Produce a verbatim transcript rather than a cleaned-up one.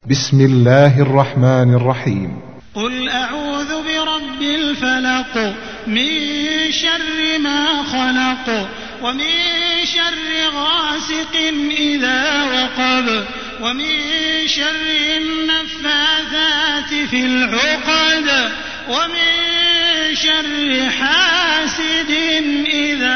بسم الله الرحمن الرحيم. قل أعوذ برب الفلق من شر ما خلق ومن شر غاسق إذا وقب ومن شر النفاثات في العقد ومن شر حاسد إذا